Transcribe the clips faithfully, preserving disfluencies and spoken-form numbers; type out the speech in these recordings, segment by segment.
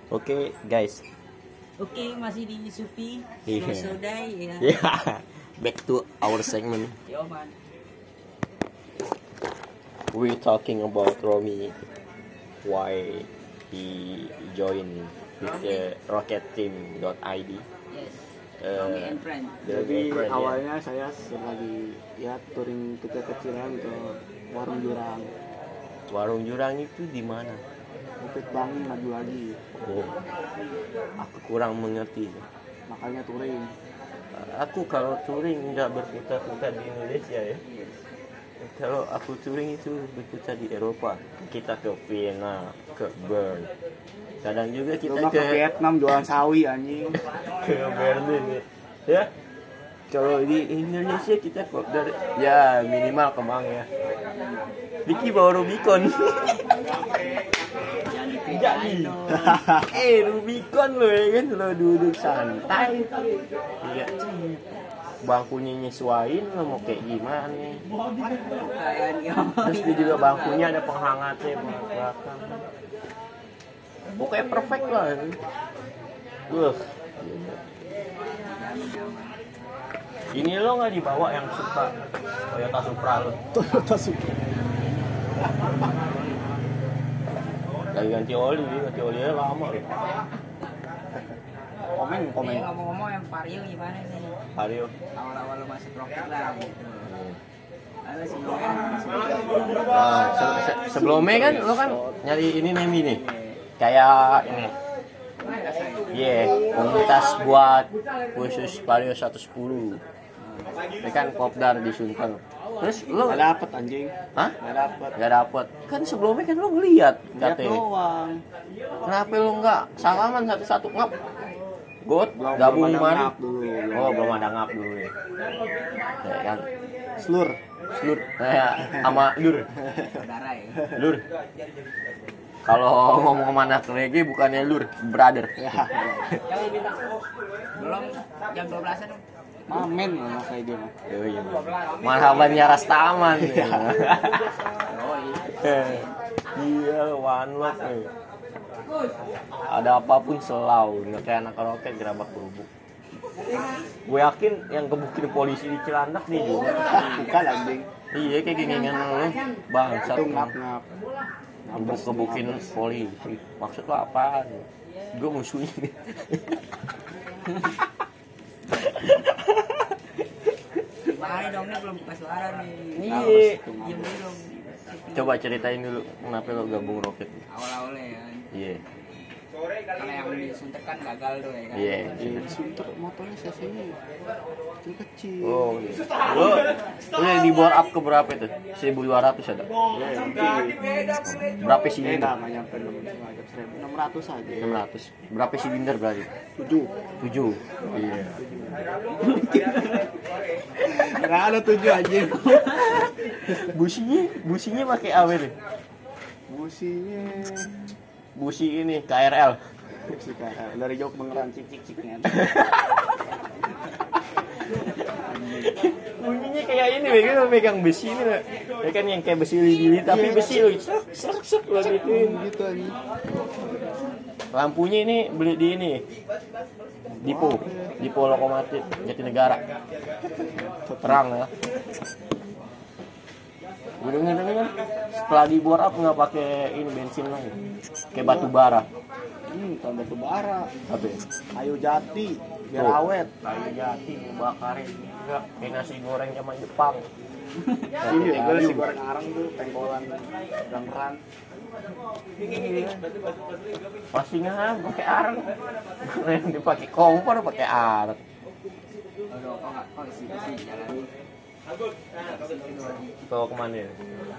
Oke guys. Oke, masih di Supi Iya. Sodai ya. Yeah, back to our segment. Yo man. We talking about Romy, why he joined with the Rocket Team dot I D. Yes. Eh, Romy and friend. Jadi Friend, ya. awalnya saya sebagai ya touring kecil-kecilan ke warung jurang, Warung jurang itu di mana? Bukit Bangi maju lagi, Oh, aku kurang mengerti. makanya touring. Aku kalau touring nggak berputar-putar di Indonesia ya. Kalau aku touring itu berputar di Eropa. Kita ke Vienna, ke Bern. Kadang juga kita Kita ke ke Vietnam jualan sawi anjing. ke Berlin ya. Ya. Kalau di Indonesia kita kok dari ya minimal Kemang ya. Vicky bawa Rubicon. Jadi, eh Rubicon lo ya kan, lo duduk santai. Iya. Bangkunya nyesuain lo mau kayak gimana nih. Terus dia juga bangkunya ada penghangatnya buat belakang. Pokoknya perfect lah. Wah. Ini lo nggak dibawa yang suka Toyota Supra lo? Toyota Supra. Lagi ganti oli, ganti olinya lama loh. Komen komen. Nih, ngomong-ngomong yang Vario gimana nih? Vario. Awal-awal lu masuk rocket lah gitu. Ada sih Nah, se- se- sebelumnya kan lo kan nyari ini Nemi nih. Kayak ini. Iya, yeah, komunitas buat khusus Vario seratus sepuluh. Ini kan kopdar di Sunter. Terus lo Gak dapet anjing. Hah? Gak dapet. Gak dapet. Kan sebelumnya kan lo ngeliat Lihat katanya. doang. Kenapa lo nggak salaman satu-satu ngap? Got Belum- gabung belum ada kemarin. ngap dulu, belum Oh, ada. belum ada ngap dulu ya. Ya kan. Slur. Slur. Nah, sama lur. saudara ya. Lur. Kalau ngomong sama anak reggae bukannya lur, brother. Ya. Belum jam dua belasan. Mamen lah kayak dia mah. Oh, iya. Marhaban ya Rastaman. Iya, one love. Eh. Ada apapun selau, nggak kayak anak roket gerabak kerubuk. Gue yakin yang kebukin polisi di Cilandak nih juga. Bukan anjing. Iya kayak gini-gini lu bangsat. Itu ngap-ngap. Gebuk kebukin polisi. Maksud lo apaan? Gue musuhnya nih. Gimana dong nih belum buka suara nih. Iya. Diam dulu. Coba ceritain dulu kenapa lo gabung roket. Awal-awalnya ya. Iya. Kalau yang di Sunter kan gagal tuh ya kan. Iya. Di Sunter motornya cc-nya kecil-kecil. Oh, iya. Lo lo di bore up ke berapa itu? seribu dua ratus ada. Ya, Berapa Eh, silinder? nggak nyampe enam ratus aja. enam ratus. Berapa silinder berarti? Tujuh. tujuh. Iya. Nggak ada tujuh aja. Businya, businya pakai apa nih? Businya Busi ini K R L. busi kayak dari jok mengeran cicik-ciciknya. Bunyinya kayak ini, begitu megang besi ini, Wek. Ya kan yang kayak besi lidi tapi besi lo, serak serak serak lo gituin. Gitu aja. Lampunya ini beli di ini, Dipo, Dipo lokomotif Jatinegara. Terang ya. Gue denger denger setelah di bore up nggak pakai ini bensin lagi, kayak batu bara. Hmm, bukan batu bara. Apa? Ya? Kayu jati biar Tuh. awet. Kayu jati bakarin juga kayak nasi goreng zaman Jepang. Iya, gue nasi goreng arang tuh pengkolan rang-rang. Pasti nggak pakai arang. Yang dipakai kompor pakai arang. Aduh, kok nggak kok isi isi jalan. Bawa kemana ya?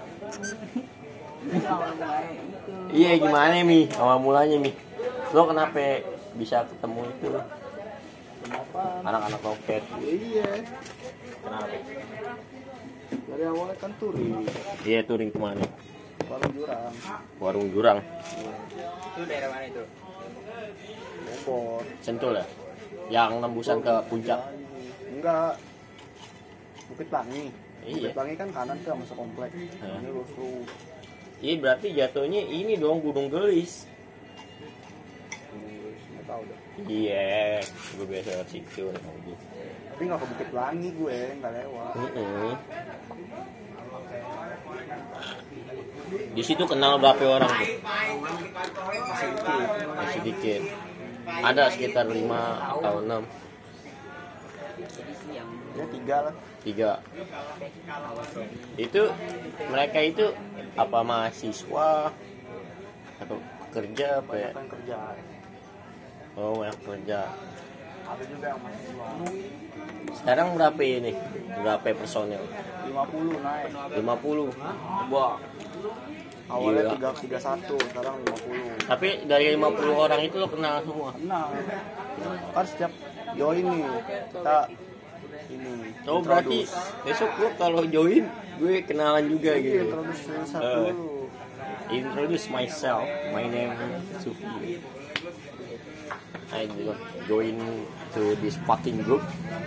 Itu awal mulai itu. Iya gimana Mi? Awal mulanya Mi. Lo kenapa bisa ketemu itu? Kenapa? Anak-anak roket. Iya. Kenapa? Dari awal kan touring. Iya touring kemana? Warung jurang. Warung jurang. Itu daerah mana itu? Bogor. Sentul ya? Yang nembusan ke puncak. Enggak. Bukit Bangi. Iya. Bukit Bangi kan kanan tuh masuk komplek. Hah. Ini lurus tuh. Iya berarti jatuhnya ini dong Gunung Gelis. tau udah. Iya, gue biasa lewat situ. Tapi nggak ke Bukit Pelangi gue, nggak lewat. Mm-mm. Di situ kenal berapa orang tuh? Masih dikit. Ada sekitar lima atau enam. Ya tiga lah. Tiga. Itu mereka itu apa mahasiswa atau kerja apa ya? Kan kerja. Oh, banyak kerja. Ada juga yang mahasiswa. Sekarang berapa ini? Berapa personel? lima puluh naik. lima puluh. Wah. Awalnya Gila. tiga tiga satu, sekarang lima puluh. Tapi dari lima puluh orang itu lo kenal semua. Nah, kan setiap join nih kita ini. Oh, berarti besok lo kalau join gue kenalan juga Iya, gitu. introduce satu Eh. dulu. Introduce myself. My name Sufi. I join to this fucking group.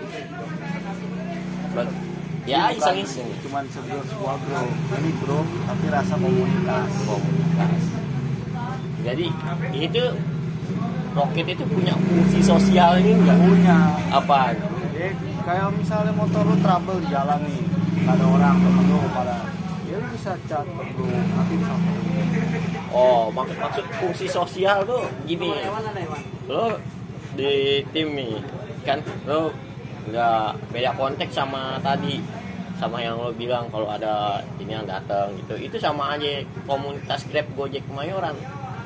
But ya iseng-iseng. Cuman sebuah sebuah bro. Ini bro, tapi rasa komunitas. Komunitas. Jadi itu Roket itu punya fungsi sosial ini nggak? Punya. Apa? Jadi kayak misalnya motor lu trouble di jalan nih, nggak ada orang, temen lu pada, ya lu bisa chat ke bro, nanti bisa. Oh, maksud maksud fungsi sosial tuh gini. Lo di tim nih, kan lo nggak beda konteks sama tadi, sama yang lo bilang kalau ada ini yang datang gitu. Itu sama aja komunitas Grab Gojek Kemayoran.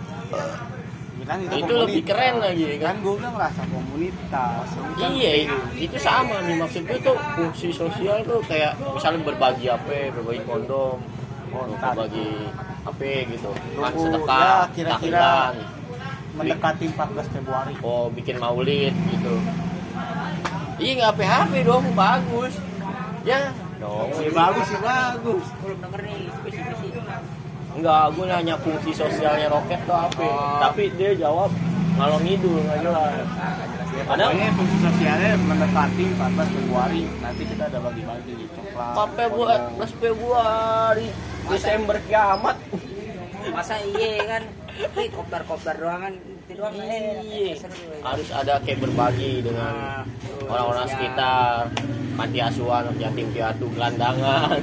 Ya kan itu, Itu lebih keren lagi kan kan. gue udah ngerasa komunitas. Ini kan Iya, itu sama nih maksud gue tuh fungsi sosial tuh kayak misalnya berbagi apa, berbagi kondom, Oh, berbagi apa gitu, kan Tunggu, sedekah, ya, kira-kira tahlilan. mendekati empat belas Februari. Oh, bikin maulid gitu. Iya, nggak P H P dong, bagus. Ya, dong. Ya, bagus sih, bagus. Belum denger nih, spesifik. Enggak, gue nanya fungsi sosialnya Roket tuh apa. Oh. Tapi dia jawab ngalor ngidul, nggak jelas. Padahal Pokoknya fungsi sosialnya mendekati empat belas Februari. Nanti kita ada bagi-bagi coklat. Pape buat empat belas Februari, Desember kiamat. Masa iya kan? Ini kopdar-kopdar doang kan, itu doang eh, Iya, seru, ya. harus ada kayak berbagi dengan orang-orang Iya. sekitar, panti asuhan, yatim piatu, gelandangan.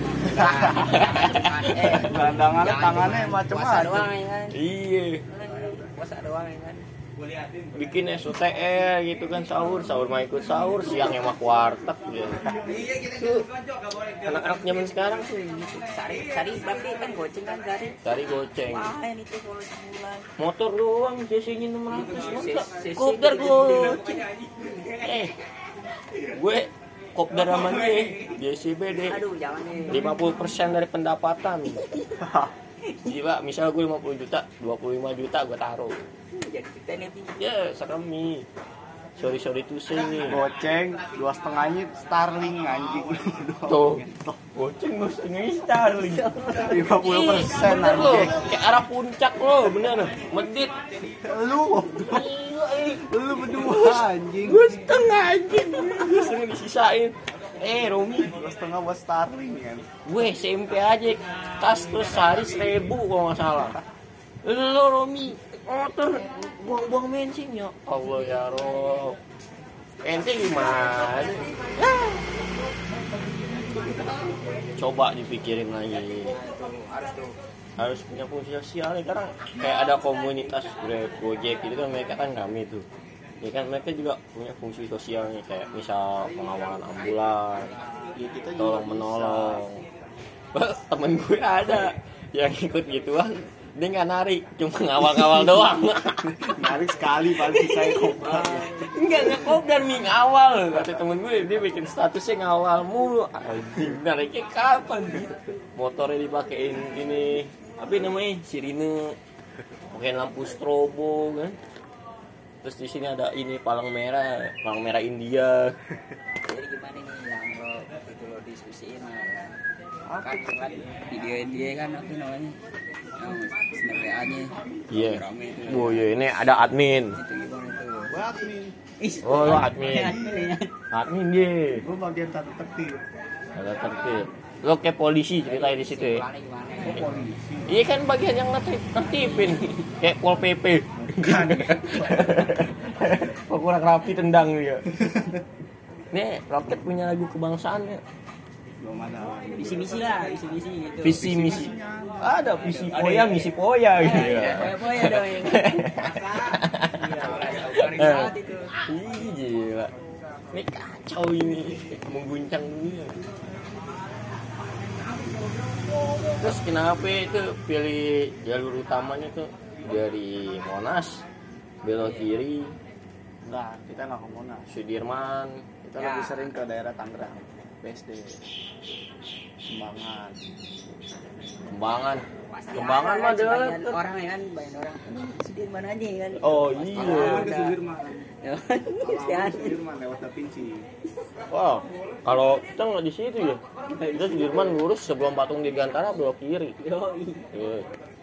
Eh, Gelandangannya jangan tangannya cuma puasa macam-macam. doang ya kan? Iya, Puasa doang ya kan? bikin S O T R gitu kan, sahur, sahur mah ikut sahur, siangnya mah kuartek gitu. Tuh, anak-anak zaman sekarang tuh gitu. Sari, sari berarti kan goceng kan sari? Cari goceng. Main itu kalau sebulan. Motor doang C C-nya enam ratus, masa C C kopdar gede-gede. goceng. Eh, gue kopdar sama dia, D C B deh. Aduh, jangan nih. lima puluh persen dari pendapatan. Gila, misal gue lima puluh juta, dua puluh lima juta gue taruh. Jadi kita nih. Ya, serem nih. Sorry sorry tuh sih nih. Goceng dua setengahnya Starling anjing. Tuh, goceng gue setengah Starling. lima puluh persen Bener lo, anjing. kayak arah puncak lo, bener. Medit. Lu, Gila, eh. lu berdua anjing. Gue setengah anjing. Gue setengah disisain. Eh, Romi, Dua setengah buat Starling kan. gue S M P aja kas terus sehari seribu kalau nggak salah. Lo Romi, motor buang-buang bensin ya. Allah ya Rob. Ente gimana? Ah. Coba dipikirin lagi. Harus tuh. Harus punya fungsi sosial ya, karena kayak ada komunitas Grab, Gojek gitu kan, mereka kan kami tuh. Ya kan mereka juga punya fungsi sosialnya kayak misal pengawalan ambulan, Ya, kita juga tolong menolong. Temen gue ada yang ikut gituan, dia nggak narik, cuma ngawal-ngawal doang. narik sekali paling sisanya kopdar. Enggak, nggak kopdar nih, ngawal. Kata temen gue, dia bikin statusnya ngawal mulu. Anjing, nariknya kapan? Motornya dipakein ini, apa namanya, sirine, pakai lampu strobo kan. Terus di sini ada ini palang merah, palang merah India. Jadi gimana nih yang lo itu lo diskusiin ya kan? Apa Kan kan videoin dia kan apa namanya? Yang snap W A-nya. Iya. Rame itu. Oh iya, ini ada admin. Itu gimana tuh? buat nih? Ih, Oh, lo admin. admin ya. Admin dia. Gue bagian satu tertib. Ada tertib. Lo kayak polisi ceritanya di situ ya. Gimana gimana? Gue polisi. Iya kan bagian yang nertib, nertibin kayak Pol P P. Bukan. Kok kurang rapi tendang dia. Nih, Roket punya lagu kebangsaan ya. Belum ada. Visi misi lah, visi misi gitu. Visi misi. Ada visi poya, misi poya gitu ya. Poya-poya dong yang. Eh, Ih, gila. Ini kacau ini, mengguncang dunia. Terus kenapa itu pilih jalur utamanya tuh dari Monas belok kiri? Enggak, kita nggak ke Monas. Sudirman, Kita Ya. lebih sering ke daerah Tangerang, B S D, Kembangan. Kembangan. Pasti Kembangan ada mah kan, sebagian deket. orang ya kan, banyak orang. Sudirman aja kan. Oh Iya, iya. ke Sudirman. Sehat. Sudirman lewat Da Vinci. Wow. Kalau kita nggak di situ ya. Kita Sudirman lurus sebelum patung Dirgantara belok kiri. Yoi. Iya.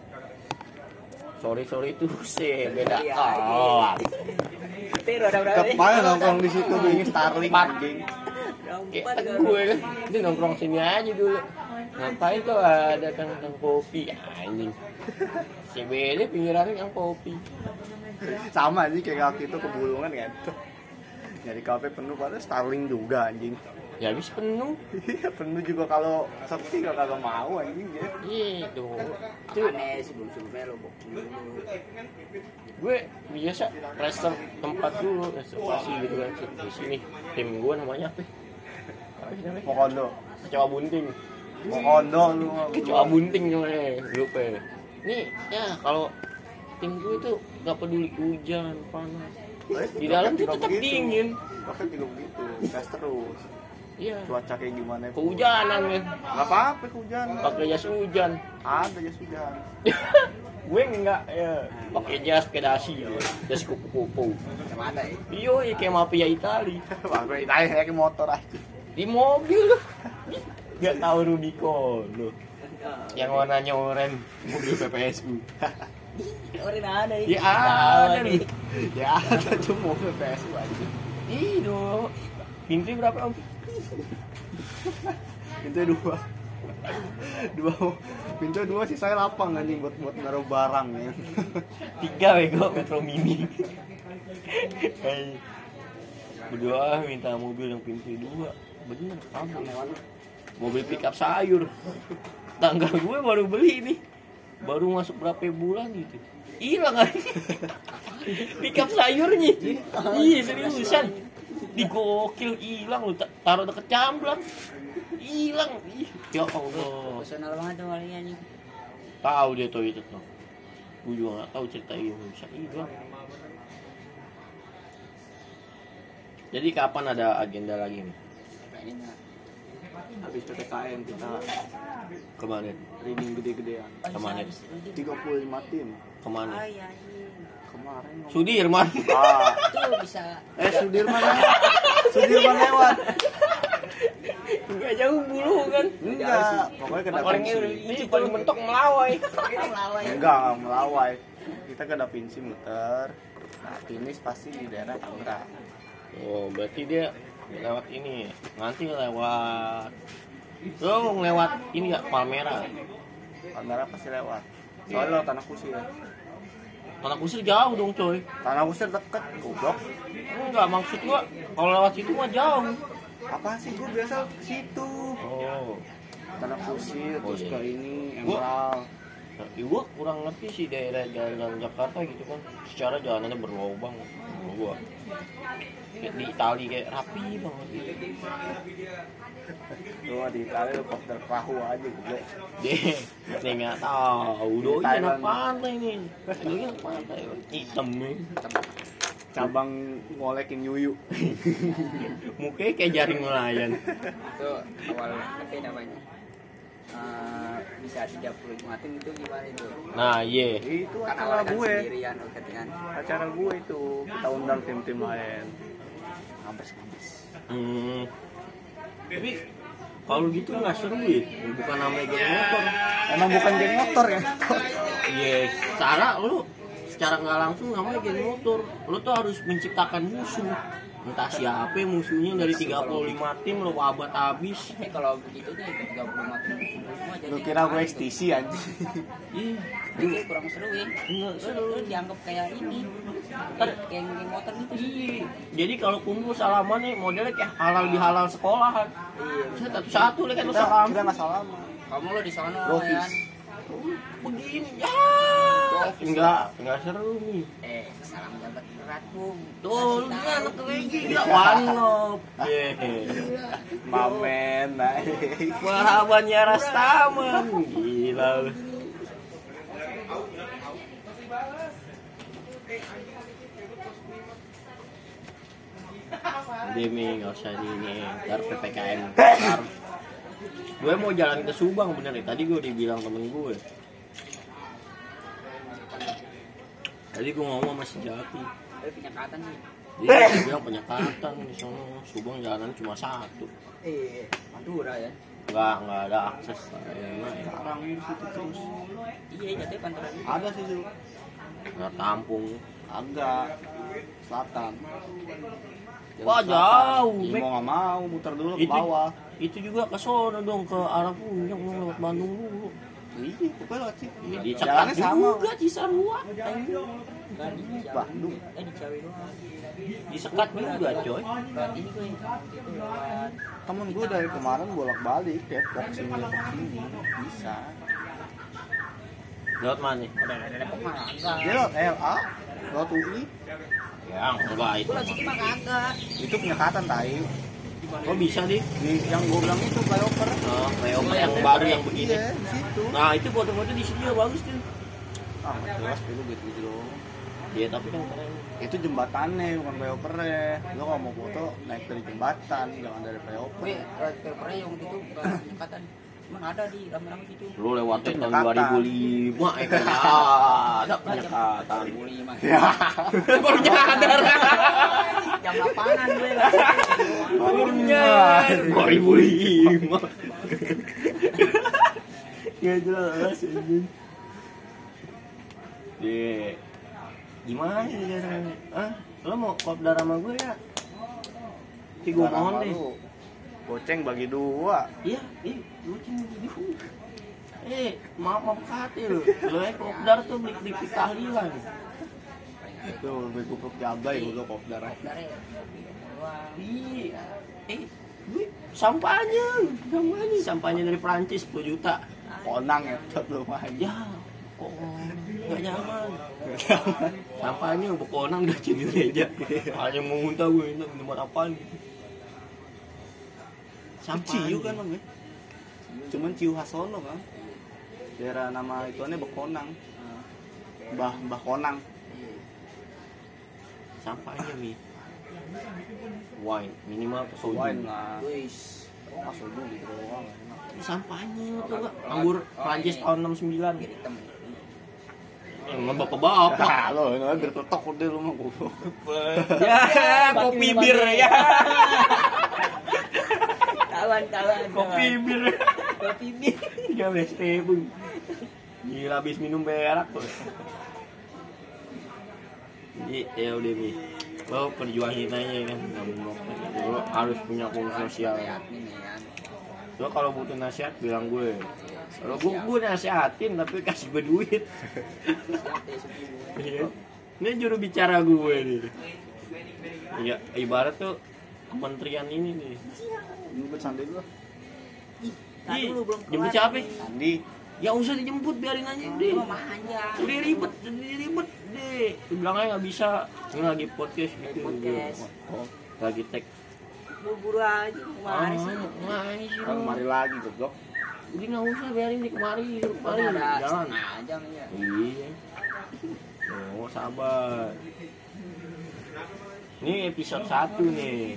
Sorry sorry itu sih beda Iya, kelas. Tapi ada berapa nih? Kepala nongkrong di situ beli Starling anjing. Kayak Empat kan. gue kan, ini nongkrong sini aja dulu. Ngapain tuh ada kang-kang kopi anjing. C B D pinggirannya yang kopi. Sama sih kayak waktu itu ke Bulungan kan. Nyari kafe penuh padahal Starling juga anjing. Ya habis penuh. Iya penuh juga kalau sepi gak kagak mau anjing ya. Iya dong. Itu Aneh sebelum-sebelumnya lo booking dulu. gue biasa reserve tempat dulu reservasi gitu kan di sini tim gue namanya apa? Apa sih namanya? Pokondo. Kecoa bunting. Pokondo lu. Kecoa bunting namanya lupa ya. Nih ya kalau tim gue tuh gak peduli hujan panas di dalam tuh tetap dingin. Roket juga begitu, gas terus. Iya. Cuaca kayak gimana pun. Kehujanan kan. Gak apa-apa kehujanan. Pakai jas hujan. Ada jas hujan. Gue enggak ya. Pakai jas kedasi ya. Jas kupu-kupu. Kemana ya? Iyo, ya kayak mafia Itali. Wah, gue ditanya kayak motor aja. Di mobil loh. Gak tahu Rubicon loh. Yang warnanya oranye, mobil P P S U. Orang ada Ya ada nih. Ya ada tuh mobil P S U aja. Ih, dong. Pintu berapa om? Pintu dua. Dua pintu dua sih saya lapang anjing buat buat naruh barang ya. Tiga bego Metro Mini. Hey. Berdua minta mobil yang pintu dua. Bener, apa? Mobil pickup sayur. Tangga gue baru beli nih. Baru masuk berapa bulan gitu. Hilang aja. Pickup sayurnya. Iya seriusan. Digokil hilang lu taruh deket camblang. Hilang. Ih, ya Allah. Personal banget tuh kalinya nih. Tahu dia tuh itu tuh. Gue juga nggak tahu cerita ini bisa hilang. Jadi kapan ada agenda lagi nih? Kayaknya Habis P P K M kita Kemana? reading gede-gedean. Kemana? tiga puluh lima tim. Kemana? Ah iya iya. Kemarin ngomong- Sudirman. Ah, Tuh bisa. eh Sudirman lewat. Sudirman lewat. Enggak jauh bulu kan? Enggak, pokoknya ke Da Orangnya Vinci. ini paling mentok melawai. Melawai. Enggak, enggak melawai. Kita ke Da Vinci muter. Nah, finish pasti di daerah Tangerang. Oh, berarti dia lewat ini. Nanti lewat lo lewat ini ya Palmera. Tangerang pasti lewat. Soalnya lo Tanah Kusir. Tanah Kusir jauh dong, coy. Tanah Kusir deket, goblok. Enggak, maksud gua kalau lewat situ mah jauh. Apa sih gue biasa ke situ. Oh. Tanah Kusir Oh, terus iya. ke ini Gua- Emerald. Nah, ya gua kurang ngerti sih daerah jalan Jakarta gitu kan. Secara jalanannya berlobang. Menurut gua. Kayak di Itali kayak rapi banget gitu. Tuh di Itali lo kopter perahu aja goblok. Deh, nih nggak tahu. Doi Thailand. anak pantai nih. Doi anak pantai. Hitam nih. Cabang ngolekin yuyu. Mukanya kayak jaring nelayan. Itu awal apa namanya? Eh, bisa tiga puluh lima tim itu gimana itu? Nah, iya. Itu Kan acara awalnya kan gue. sendirian Roket kan. Acara gue itu kita undang tim-tim lain. Ngampes-ngampes. Hmm. Tapi kalau gitu nggak seru ya. Bukan namanya geng motor. Emang bukan geng motor ya? Iya, secara lu secara nggak langsung namanya geng motor. Lu tuh harus menciptakan musuh. Entah siapa musuhnya dari tiga puluh lima tim lu wabat habis. Eh kalau begitu tuh tiga puluh lima tim semua jadi. Lu kira gue X T C anjing. Iya. Itu kurang seru ya. Nggak Lu, seru. lu dianggap kayak ini. Kayak geng geng motor gitu. Iya. Jadi kalau kumpul salaman nih modelnya kayak halal di halal sekolahan. Iya. Satu-satu lah kan lu Kita salam. kita nggak salaman. Kamu lo di sana Profis. kan. Begini ya. Enggak, enggak seru nih. Eh, salam jabat erat, Bung. Tuh, lu Kasih ini tahu. anak kelinci gila wanop. Yeay. Mamen naik. Marhabannya Rastaman. Gila lu. Demi nggak usah di ini, ntar P P K M. Ntar. Gue mau jalan ke Subang bener ya. Tadi gue dibilang temen gue. Tadi gue ngomong sama si Jati. Ada penyekatan nih. Dia bilang penyekatan di sana. Subang jalan cuma satu. Eh, Madura ya. Enggak, enggak ada akses. Enak ya. Sekarang di situ terus. Iya, jatuh panturan. Ada sih tuh. Nggak tampung. Agak selatan. Wah, Selatan. jauh, Ih, Mek. mau nggak mau muter dulu ke Itu- bawah. Itu juga ke sono dong, ke arah Puncak dong, lewat Bandung dulu. Iya, pokoknya lewat situ. Ya, di Jalannya Cakap sama. juga Cisarua. Enggak di Bandung. Eh, di Ciawi doang. Disekat juga, coy. Lewat ini gue itu lewat Temen gue dari kemarin bolak-balik Depok sini Depok sini bisa. Lewat mana? udah ada Depok mah enggak. Dia lewat L A, lewat U I, Ya, enggak itu. Gue lewat situ mah kagak. itu penyekatan tai. Kok bisa deh? Di yang gue bilang itu flyover. Oh, flyover yang baru yang begini. Iya, di situ. Nah, itu foto-foto di sini ya bagus tuh. Ah, nggak jelas dulu gitu gitu dong. Iya, tapi kan keren. Itu jembatannya bukan flyovernya. Lo kalau mau foto naik dari jembatan, jangan dari flyover. Gue lewat papernya yang waktu itu bukan penyekatan. Cuman ada di rame-rame gitu. Lu lewatnya Itu tahun penyekatan. dua ribu lima ya kan? Ada penyekatan. dua ribu lima. Ya. Baru nyadar. Jam delapanan gue lah. Baru nyadar. dua ribu lima. Gak jelas anjing. Ye. Gimana sih caranya? Ah, lo mau kopdar sama gue ya? Tapi gue mohon deh. Goceng bagi dua. Iya, iya, gue cuma gitu. Eh, maaf maaf hati lo. Lo ya kopdar tuh beli beli tahlilan. Itu lebih kupluk jabai gue kopdar. Dari Iya. Eh, gue sampahnya, sampahnya, sampahnya dari Prancis sepuluh juta. Konang ya, belum aja. Ya, kok nggak nyaman. Sampahnya bekonang udah jadi meja. Hanya mau muntah gue ini tempat apaan gitu. Ciu kan om ya? Cuman Ciu Hasono kan? Daerah nama ituannya Bekonang. Mbah Mbah Konang. Sampahnya mi. Wine minimal ke soju. Wine lah. Wis. Masuk dulu gitu doang. Sampahnya tuh gak anggur Prancis tahun enam sembilan. Hitam. Emang bapak-bapak. Ah, lo ini biar ketok udah lu mah goblok. Ya, kopi bir ya. Kawan kawan. Kopi bir. Kopi bir. tiga belas ribu. Gila habis minum berak tuh. Jadi ya udah nih. Lo perjuangin aja kan, nggak mau lo harus punya fungsi sosial. Admin ya. Lo kalau butuh nasihat bilang gue. Kalau gue gue nasihatin tapi kasih gue duit. Iya. Ini juru bicara gue nih. Iya, ibarat tuh kementerian ini nih. Jemput Sandi dulu. Tadi lu belum Jemput kelar. siapa? Sandi. Ya usah dijemput, biarin aja deh. Lu manja. Udah ribet, udah ribet deh. Bilang aja nggak bisa. Ini lagi podcast gitu. Podcast. Oh, lagi tag. Buru-buru aja kemarin sih. Kemari sih Kan lu. kemari lagi goblok. Udah nggak usah, biarin di kemari, kemari Ada jalan. setengah jam ya. Iya. Oh, sabar. Ini episode satu nih.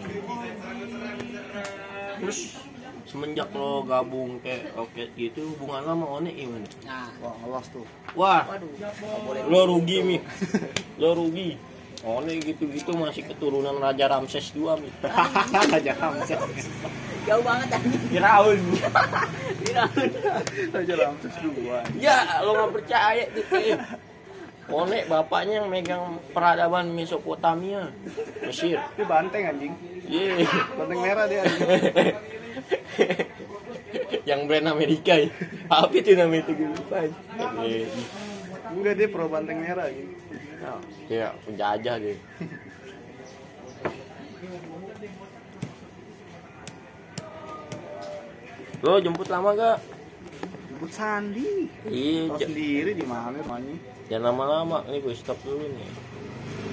Terus semenjak lo gabung kayak Roket gitu, hubungan lo sama One gimana? Nah, Wah, ngelos tuh. Wah, waduh, nggak boleh. lo rugi mi, lo rugi. One gitu-gitu masih keturunan Raja Ramses kedua mi. Raja Ramses. Jauh banget tadi. Firaun. Raja Ramses dua. Ya, lo nggak percaya gitu. One bapaknya yang megang peradaban Mesopotamia, Mesir. Itu banteng anjing. Iya. Banteng merah dia anjing. Yang brand Amerika ya. Apa itu namanya itu gue lupa. juga dia pro banteng merah gitu. Ya, dia penjajah dia. Lo jemput lama gak? Jemput Sandi. Iya, Tahu j- sendiri di mana rumahnya. jangan lama-lama. Ini gue stop dulu nih.